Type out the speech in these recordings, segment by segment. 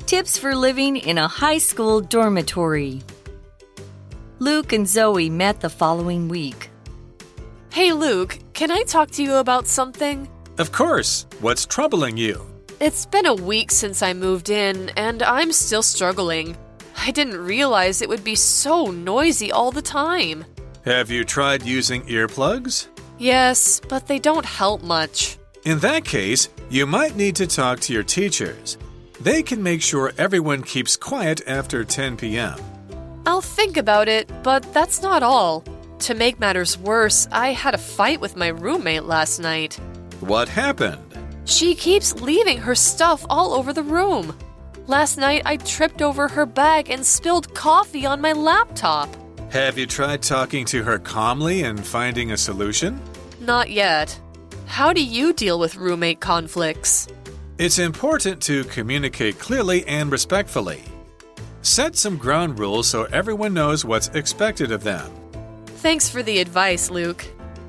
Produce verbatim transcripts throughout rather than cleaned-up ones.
Tips for living in a high school dormitory. Luke and Zoe met the following week. Hey, Luke, can I talk to you about something? Of course. What's troubling you? It's been a week since I moved in, and I'm still struggling. I didn't realize it would be so noisy all the time. Have you tried using earplugs? Yes, but they don't help much. In that case, you might need to talk to your teachers. They can make sure everyone keeps quiet after ten p m I'll think about it, but that's not all. To make matters worse, I had a fight with my roommate last night. What happened? She keeps leaving her stuff all over the room. Last night, I tripped over her bag and spilled coffee on my laptop. Have you tried talking to her calmly and finding a solution? Not yet. How do you deal with roommate conflicts? It's important to communicate clearly and respectfully. Set some ground rules so everyone knows what's expected of them. Thanks for the advice, Luke.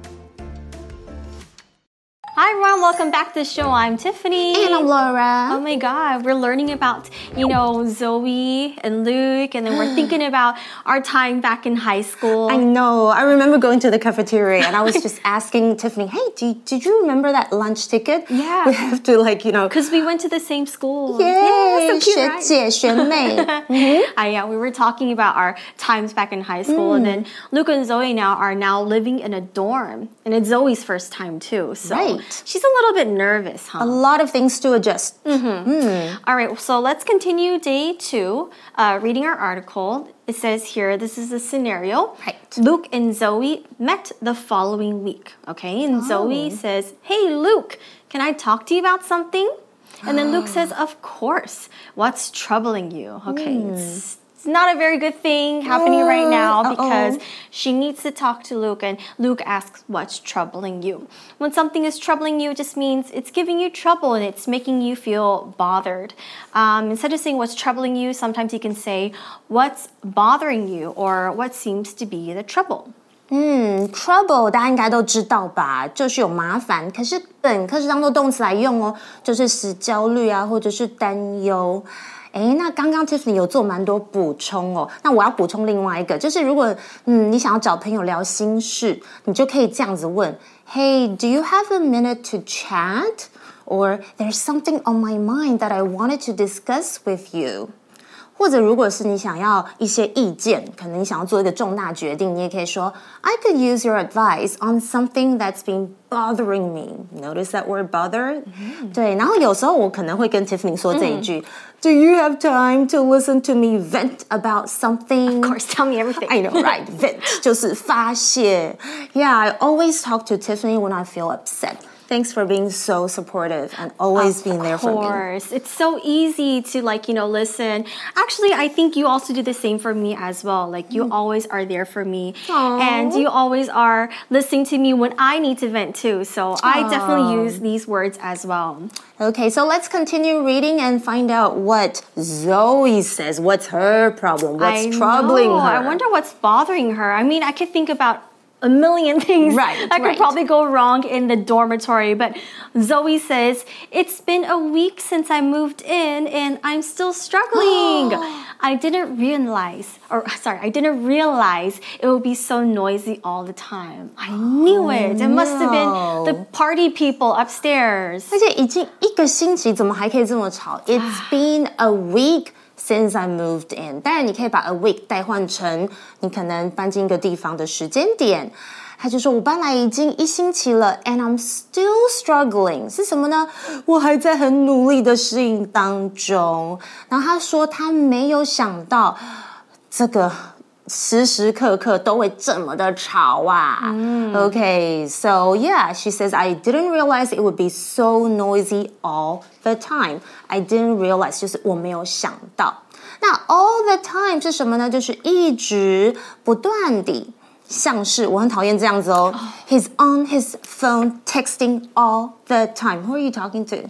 Hi everyone, welcome back to the show. I'm Tiffany. And I'm Laura. Oh my god, we're learning about, you know, Zoe and Luke, and then we're thinking about our time back in high school. I know. I remember going to the cafeteria and I was just asking Tiffany, hey, did, did you remember that lunch ticket? Yeah. We have to like, you know. Because we went to the same school. Yay, yeah, so cute, 学 right? 姐学妹 mm-hmm. uh, yeah, we were talking about our times back in high school, mm. and then Luke and Zoe now are now living in a dorm, and it's Zoe's first time too. So right. She's a little bit nervous, huh? A lot of things to adjust. Mm-hmm. Mm. All right, so let's continue day two, uh, reading our article. It says here, this is a scenario. Right. Luke and Zoe met the following week, okay? And oh. Zoe says, hey, Luke, can I talk to you about something? And then Luke says, of course. What's troubling you? Okay, mm. it's It's not a very good thing happening right now because uh-oh. she needs to talk to Luke, and Luke asks, what's troubling you? When something is troubling you, it just means it's giving you trouble and it's making you feel bothered. Um, instead of saying what's troubling you, sometimes you can say what's bothering you or what seems to be the trouble. 嗯 trouble 大家应该都知道吧，就是有麻烦，可是本可是当作动词来用哦，就是使焦虑啊，或者是担忧。诶，那刚刚 Tiffany 有做蠻多補充哦，那我要補充另外一個，就是如果嗯你想要找朋友聊心事，你就可以這樣子問 Hey, do you have a minute to chat? Or there's something on my mind that I wanted to discuss with you. 或者如果是你想要一些意見，可能你想要做一個重大決定，你也可以說 I could use your advice on something that's been bothering me. Notice that word bother? Mm-hmm. 对，然後有時候我可能會跟 Tiffany 說這一句、mm. Do you have time to listen to me vent about something? Of course, tell me everything. I know, right? Vent 就是發洩 Yeah, I always talk to Tiffany when I feel upset.Thanks for being so supportive and always of being there for me. Of course. It's so easy to like, you know, listen. Actually, I think you also do the same for me as well. Like you mm. always are there for me. Aww. And you always are listening to me when I need to vent too. So Aww. I definitely use these words as well. Okay, so let's continue reading and find out what Zoe says. What's her problem? What's I troubling know. her? I wonder what's bothering her. I mean, I could think about a million things right, that could right. probably go wrong in the dormitory. But Zoe says, it's been a week since I moved in and I'm still struggling. I didn't realize, or sorry, I didn't realize it would be so noisy all the time. I knew oh, it. It must have been the party people upstairs. 而且已經一個星期，怎麼還可以這麼吵? It's been a week.Since I moved in， 當然你可以把 a week 代換成你可能搬進一個地方的時間點。他就說我搬來已經一星期了 and I'm still struggling 是什麼呢？我還在很努力的適應當中。然後他說他沒有想到這個時時刻刻都會這麼的吵啊。Mm. Okay, so yeah, she says, I didn't realize it would be so noisy all the time. I didn't realize, 就是我沒有想到。那 all the time 是什麼呢？就是一直不斷地。像是我很討厭這樣子哦。He's on his phone texting all the time. Who are you talking to?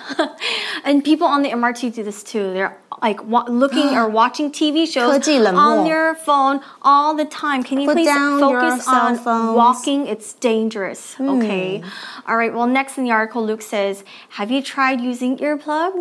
And people on the M R T do this too. They're like wa- looking or watching T V shows 科技冷漠 on their phone all the time. Can you Put please down focus your on cell phones. walking? It's dangerous. Hmm. Okay. All right. Well, next in the article, Luke says, have you tried using earplugs?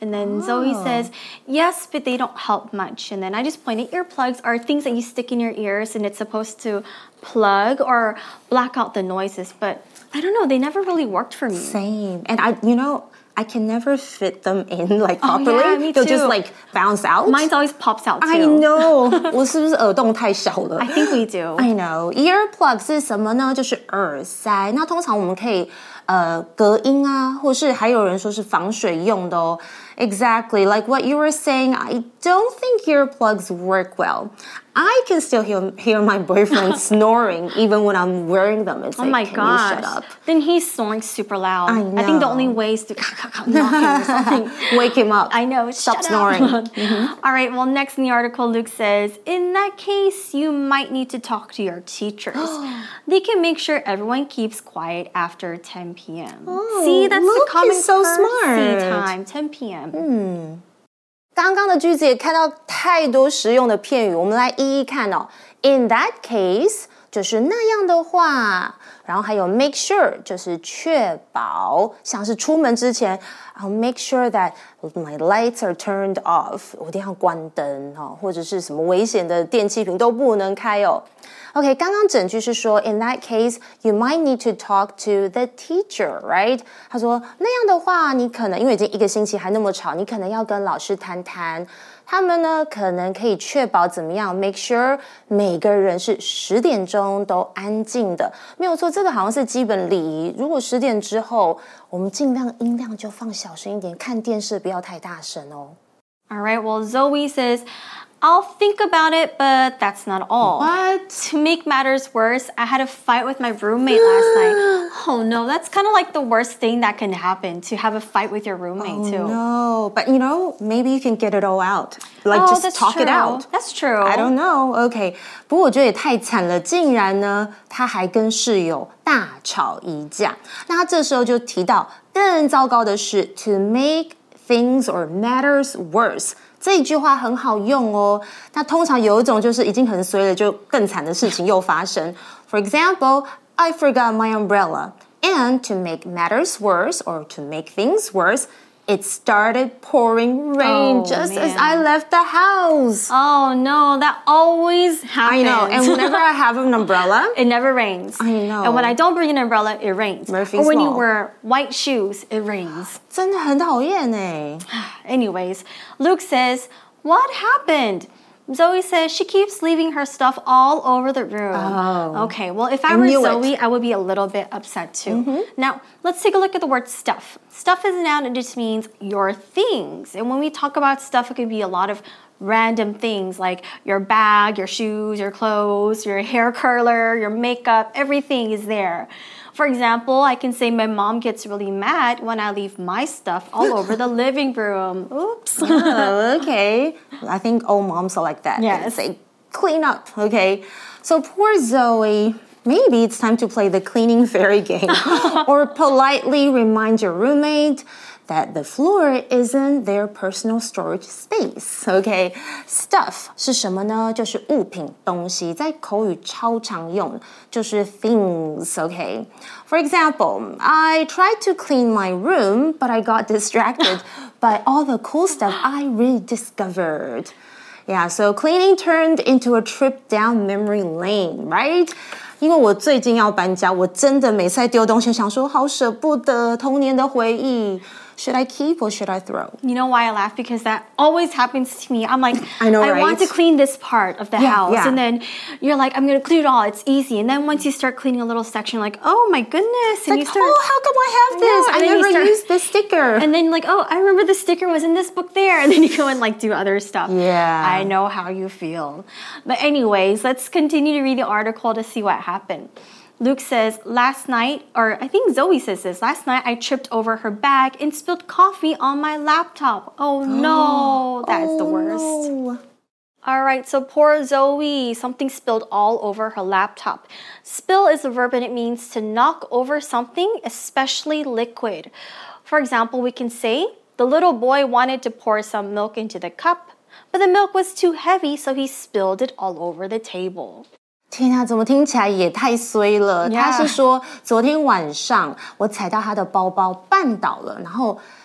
And then oh. Zoe says, yes, but they don't help much. And then I just pointed, earplugs are things that you stick in your ears and it's supposed to plug or block out the noises. But I don't know, they never really worked for me. Same. And I, you know, I can never fit them in like properly. Oh, yeah, me They'll too. just like bounce out. Mine always pops out too. I know. 我是不是耳洞太小了 I think we do. I know. Earplug 是什麼呢？就是耳塞。那通常我们可以呃隔音啊，或是還有人說是防水用的哦。Exactly, like what you were saying, I don't think earplugs work well. I can still hear, hear my boyfriend snoring even when I'm wearing them. It's oh like, my can gosh. you shut up? Then he's snoring super loud. I know. I think the only way is to knock him or something. Wake him up. I know. Stop Shut snoring. mm-hmm. All right, well, next in the article, Luke says, in that case, you might need to talk to your teachers. They can make sure everyone keeps quiet after ten p.m. Oh, See, that's Luke the common is so courtesy smart. time, ten p.m. 嗯，刚刚的句子也看到太多實用的片語，我們來一一看哦。In that case 就是那樣的話，然後還有 make sure 就是確保，像是出門之前 I'll make sure that my lights are turned off， 我一定要關燈哦，或者是什麼危險的電氣瓶都不能開哦。OK， 剛剛整句是說 In that case, you might need to talk to the teacher, right? 他說那樣的話，你可能因為已經一個星期還那麼吵，你可能要跟老師談談。他們呢，可能可以確保怎麼樣 ？Make sure 每個人是十點鐘都安靜的，沒有錯。這個好像是基本禮儀。如果十點之後，我們盡量音量就放小聲一點，看電視不要太大聲哦。 All right, well, Zoe says, I'll think about it, but that's not all. What? To make matters worse, I had a fight with my roommate last night. Oh no, that's kind of like the worst thing that can happen, to have a fight with your roommate oh, too. No, but you know, maybe you can get it all out. Like oh, just that's talk true. it out. That's true. I don't know. Okay. 不過我覺得也太慘了，竟然呢，他還跟室友大吵一架。那他這時候就提到，更糟糕的是 to make things or matters worse。這一句話很好用哦。那通常有一種就是已經很衰了，就更慘的事情又發生。For example, I forgot my umbrella. And to make matters worse or to make things worse, it started pouring rain oh, just man. as I left the house. Oh no, that always happens. I know. And whenever I have an umbrella, it never rains. I know. And when I don't bring an umbrella, it rains. Murphy's or when Law. you wear white shoes, it rains. 真的很討厭耶。 Anyways, Luke says, what happened? Zoe says she keeps leaving her stuff all over the room. Oh. Okay, well, if I, I were knew Zoe, it. I would be a little bit upset too. Mm-hmm. Now, let's take a look at the word stuff. Stuff is a noun, it just means your things. And when we talk about stuff, it can be a lot of random things like your bag, your shoes, your clothes, your hair curler, your makeup, everything is there. For example, I can say my mom gets really mad when I leave my stuff all over the living room. Oops. Oh, okay. I think all moms are like that. Yes. They say, clean up, okay? So poor Zoe. Maybe it's time to play the cleaning fairy game or politely remind your roommate that the floor isn't their personal storage space. Okay, stuff 是什麼呢？就是物品、東西，在口語超常用，就是 things. Okay, for example, I tried to clean my room, but I got distracted by all the cool stuff I rediscovered. Yeah, so cleaning turned into a trip down memory lane, right? 因為我最近要搬家，我真的每次在丟東西，想說好捨不得童年的回憶。Should I keep or should I throw? You know why I laugh? Because that always happens to me. I'm like, I know, I right? want to clean this part of the yeah, house. Yeah. And then you're like, I'm going to clean it all. It's easy. And then once you start cleaning a little section, you're like, oh my goodness. It's and like, you start, oh, how come I have this? I, I never start, used this sticker. And then like, oh, I remember the sticker was in this book there. And then you go and like do other stuff. Yeah. I know how you feel. But anyways, let's continue to read the article to see what happened. Luke says, last night, or I think Zoe says this, last night I tripped over her bag and spilled coffee on my laptop. Oh no, that's oh, the worst. No. All right, so poor Zoe, something spilled all over her laptop. Spill is a verb and it means to knock over something, especially liquid. For example, we can say, the little boy wanted to pour some milk into the cup, but the milk was too heavy, so he spilled it all over the table. 天啊，怎麼聽起來也太衰了？ Yeah. 他是說昨天晚上我踩到他的包包絆倒了，然後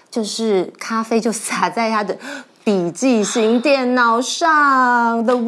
就是咖啡就灑在他的筆記型電腦上 ，the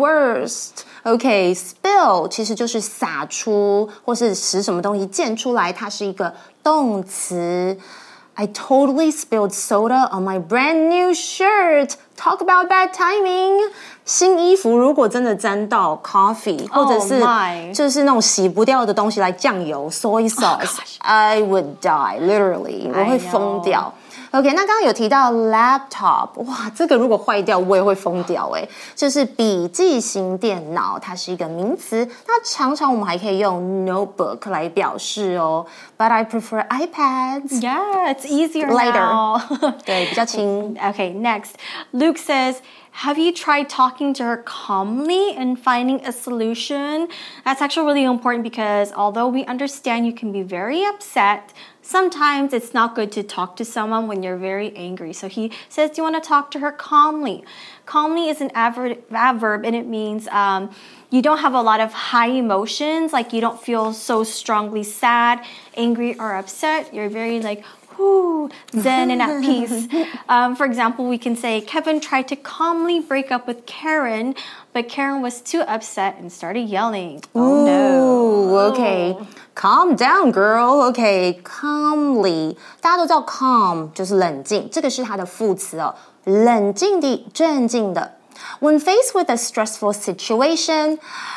worst。OK, spill 其實就是灑出或是使什麼東西濺出來，它是一個動詞。I totally spilled soda on my brand new shirt. Talk about bad timing. 新衣服如果真的沾到 coffee， 或者是就是那種洗不掉的東西，來醬油 soy sauce，I would die literally， 我會瘋掉。OK， 那剛剛有提到 laptop， 哇，這個如果壞掉我也會瘋掉誒，就是筆記型電腦，它是一個名詞。那常常我們還可以用 notebook 來表示哦。But I prefer iPads. Yeah, it's easier later. now. 對，比較輕。 Okay, next. Luke says, have you tried talking to her calmly and finding a solution? That's actually really important because although we understand you can be very upset, sometimes it's not good to talk to someone when you're very angry. So he says, do you want to talk to her calmly? Calmly is an adverb, adverb and it means um, you don't have a lot of high emotions, like you don't feel so strongly sad, angry, or upset. You're very like, whoo, zen and at peace. Um, for example, we can say, Kevin tried to calmly break up with Karen, but Karen was too upset and started yelling. Oh, no. Okay. Calm down, girl. Okay, calmly. 大家都知道 calm 就是冷靜，这個是它的副詞哦，冷靜的、鎮靜的。When faced with a stressful situation,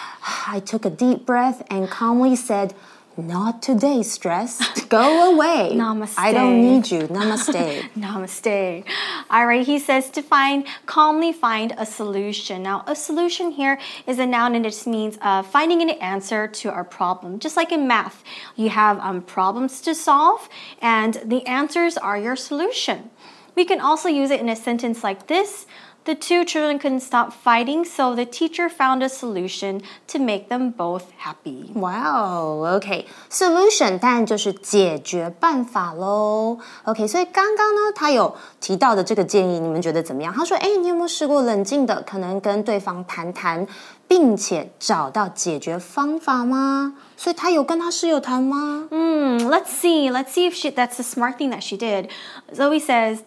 I took a deep breath and calmly said, Not today, stress. Go away. Namaste. I don't need you. Namaste. Namaste. All right, he says to find, calmly find a solution. Now, a solution here is a noun and it just means uh, finding an answer to our problem. Just like in math, you have um, problems to solve and the answers are your solution. We can also use it in a sentence like this. The two children couldn't stop fighting, so the teacher found a solution to make them both happy. Wow, okay. Solution 当然就是解決辦法咯。OK， 所以剛剛呢，他有提到的這個建議，你們覺得怎麼樣？他說，哎，你有沒有試過冷靜的，可能跟對方談談，並且找到解決方法嗎？所以他有跟他室友談嗎？ Hmm, let's see. Let's see if she, that's the smart thing that she did. Zoe says,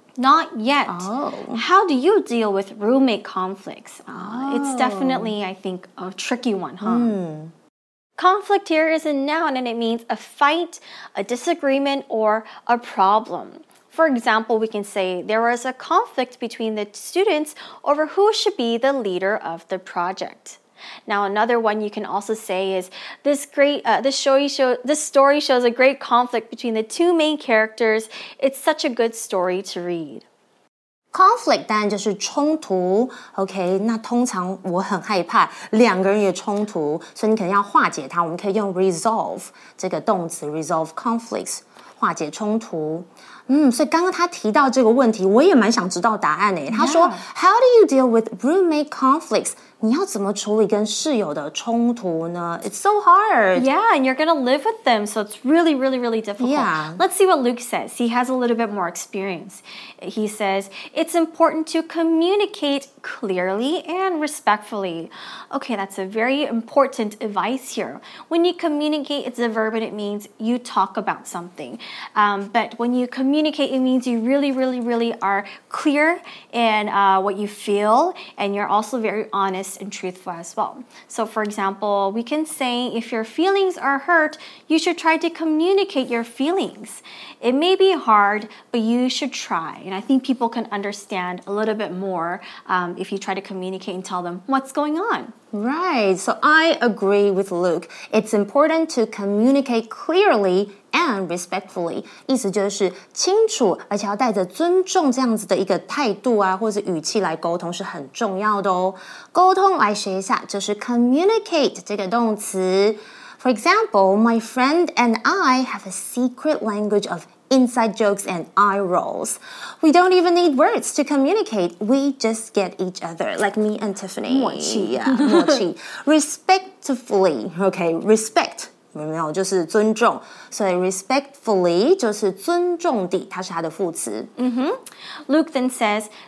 Not yet. Oh. How do you deal with roommate conflicts? Uh, oh. It's definitely, I think, a tricky one, huh? Mm. Conflict here is a noun and it means a fight, a disagreement, or a problem. For example, we can say there was a conflict between the students over who should be the leader of the project. Now, another one you can also say is this great. Uh, this story show. This story shows a great conflict between the two main characters. It's such a good story to read. Conflict 当然就是衝突 ，OK。那通常我很害怕兩個人有衝突，所以你可能要化解它。我們可以用 resolve 這個動詞 resolve conflicts 化解衝突。嗯，所以剛剛他提到這個問題，我也蠻想知道答案誒。他說 ，How do you deal with roommate conflicts？ 你要怎麼處理跟室友的衝突呢？ It's so hard. Yeah, and you're gonna live with them, so it's really, really, really difficult. Yeah. Let's see what Luke says. He has a little bit more experience. He says, it's important to communicate clearly and respectfully. Okay, that's a very important advice here. When you communicate, it's a verb and it means you talk about something. Um, but when you communicate, it means you really, really, really are clear in uh, what you feel, and you're also very honest and truthful as well. So for example, we can say if your feelings are hurt, you should try to communicate your feelings. It may be hard, but you should try. And I think people can understand a little bit more um, if you try to communicate and tell them what's going on. Right. So I agree with Luke. It's important to communicate clearly and respectfully. 意思就是清楚，而且要帶着尊重這樣子的一個態度啊，或者語氣來溝通是很重要的哦。溝通來學一下，就是 communicate 這個動詞。For example, my friend and I have a secret language of inside jokes and eye rolls. We don't even need words to communicate. We just get each other, like me and Tiffany. 默契 yeah, 默契 Respectfully, okay, respect. 有沒有？就是尊重，所以 respectfully 就是尊重地，它是它的副詞。 Mm-hmm. Luke then says,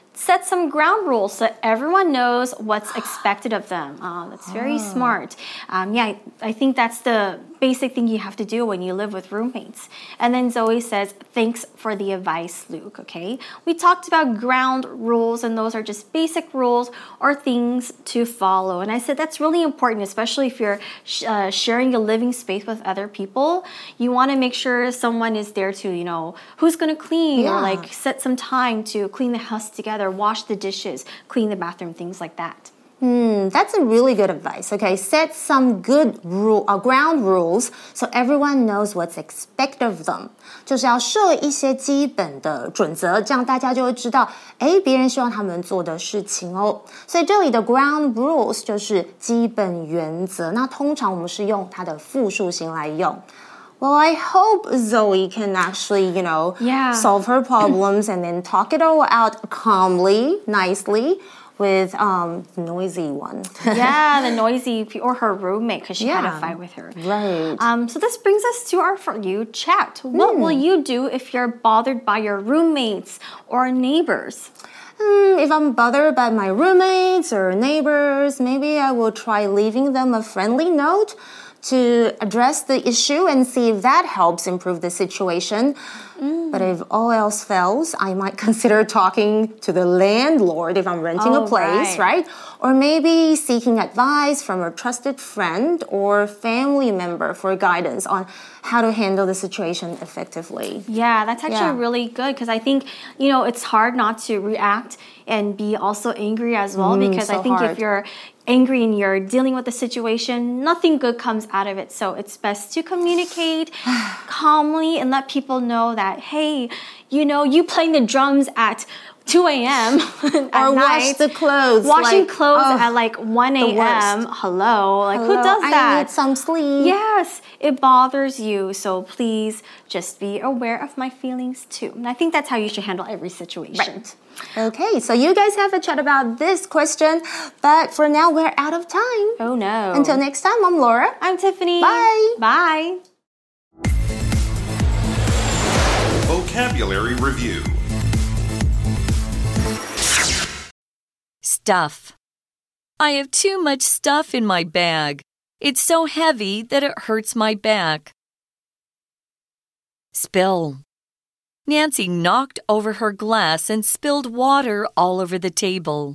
set some ground rules so everyone knows what's expected of them. Oh, that's very oh. smart. Um, yeah, I, I think that's the basic thing you have to do when you live with roommates. And then Zoe says, thanks for the advice, Luke, okay? We talked about ground rules, and those are just basic rules or things to follow. And I said that's really important, especially if you're sh- uh, sharing a living space with other people. You want to make sure someone is there to, you know, who's going to clean yeah. or like set some time to clean the house together, wash the dishes, clean the bathroom, things like that. Hmm, that's a really good advice. Okay, set some good rule, uh, ground rules so everyone knows what's expected of them. 就是要设一些基本的准则，这样大家就会知道，哎，別人希望他們做的事情哦。所以這裡的 ground rules 就是基本原則。那通常我們是用它的複數形來用。Well, I hope Zoe can actually, you know, yeah. solve her problems and then talk it all out calmly, nicely. With um noisy one. yeah, the noisy, or her roommate, because she yeah, had a fight with her. Right. Um, so this brings us to our For You chat. What mm. will you do if you're bothered by your roommates or neighbors? Hmm, if I'm bothered by my roommates or neighbors, maybe I will try leaving them a friendly note to address the issue and see if that helps improve the situation. Mm. But if all else fails, I might consider talking to the landlord if I'm renting oh, a place, right. right? Or maybe seeking advice from a trusted friend or family member for guidance on how to handle the situation effectively. Yeah, that's actually yeah. really good because I think, you know, it's hard not to react and be also angry as well mm, because so I think hard. if you're angry and you're dealing with the situation, nothing good comes out of it. So it's best to communicate calmly and let people know that, hey, you know, you playing the drums at two a.m. at or night, wash the clothes. Washing like, clothes oh, at like one a.m. Hello. Like Hello, who does that? I need some sleep. Yes, it bothers you. So please just be aware of my feelings too. And I think that's how you should handle every situation. Right. Okay, so you guys have a chat about this question, but for now we're out of time. Oh no. Until next time, I'm Laura. I'm Tiffany. Bye. Bye. Vocabulary Review. Stuff. I have too much stuff in my bag. It's so heavy that it hurts my back. Spill. Nancy knocked over her glass and spilled water all over the table.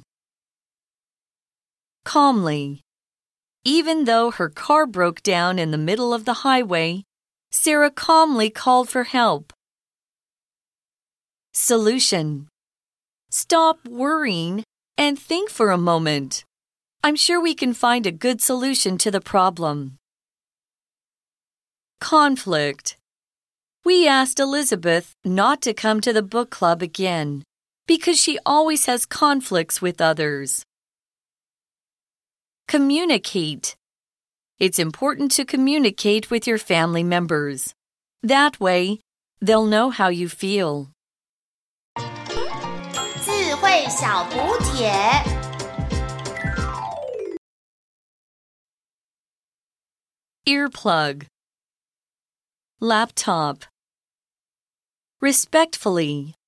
Calmly. Even though her car broke down in the middle of the highway, Sarah calmly called for help. Solution. Stop worrying and think for a moment. I'm sure we can find a good solution to the problem. Conflict. We asked Elizabeth not to come to the book club again because she always has conflicts with others. Communicate. It's important to communicate with your family members. That way, they'll know how you feel. 智慧小補帖 Earplug. Laptop. Respectfully.